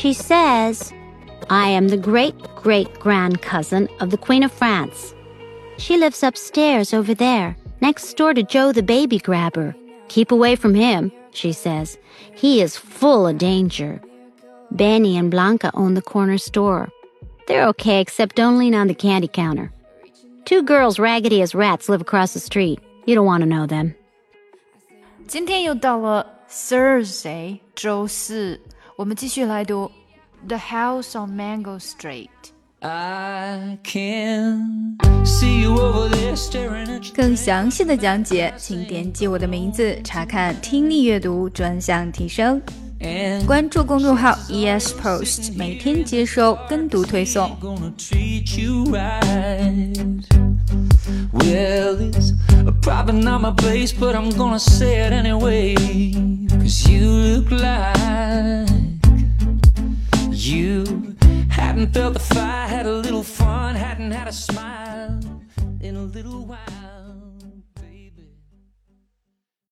She says, I am the great-great-grand-cousin of the Queen of France. She lives upstairs over there, next door to Joe the baby grabber. Keep away from him, she says. He is full of danger. Benny and Blanca own the corner store. They're okay except don't lean on the candy counter. 2 girls raggedy as rats live across the street. You don't want to know them. 今天又到了 Thursday 周四，我们继续来读 The House on Mango Street。I can see you over there staring at you. 更详细的讲解，请点击我的名字查看听力阅读专项提升。关注公众号 ESPost， 每天接收跟读推送。Well, it's probably not my place, but I'm gonna say it anyway. 'Cause you look like you hadn't felt the fire, had a little fun, hadn't had a smile.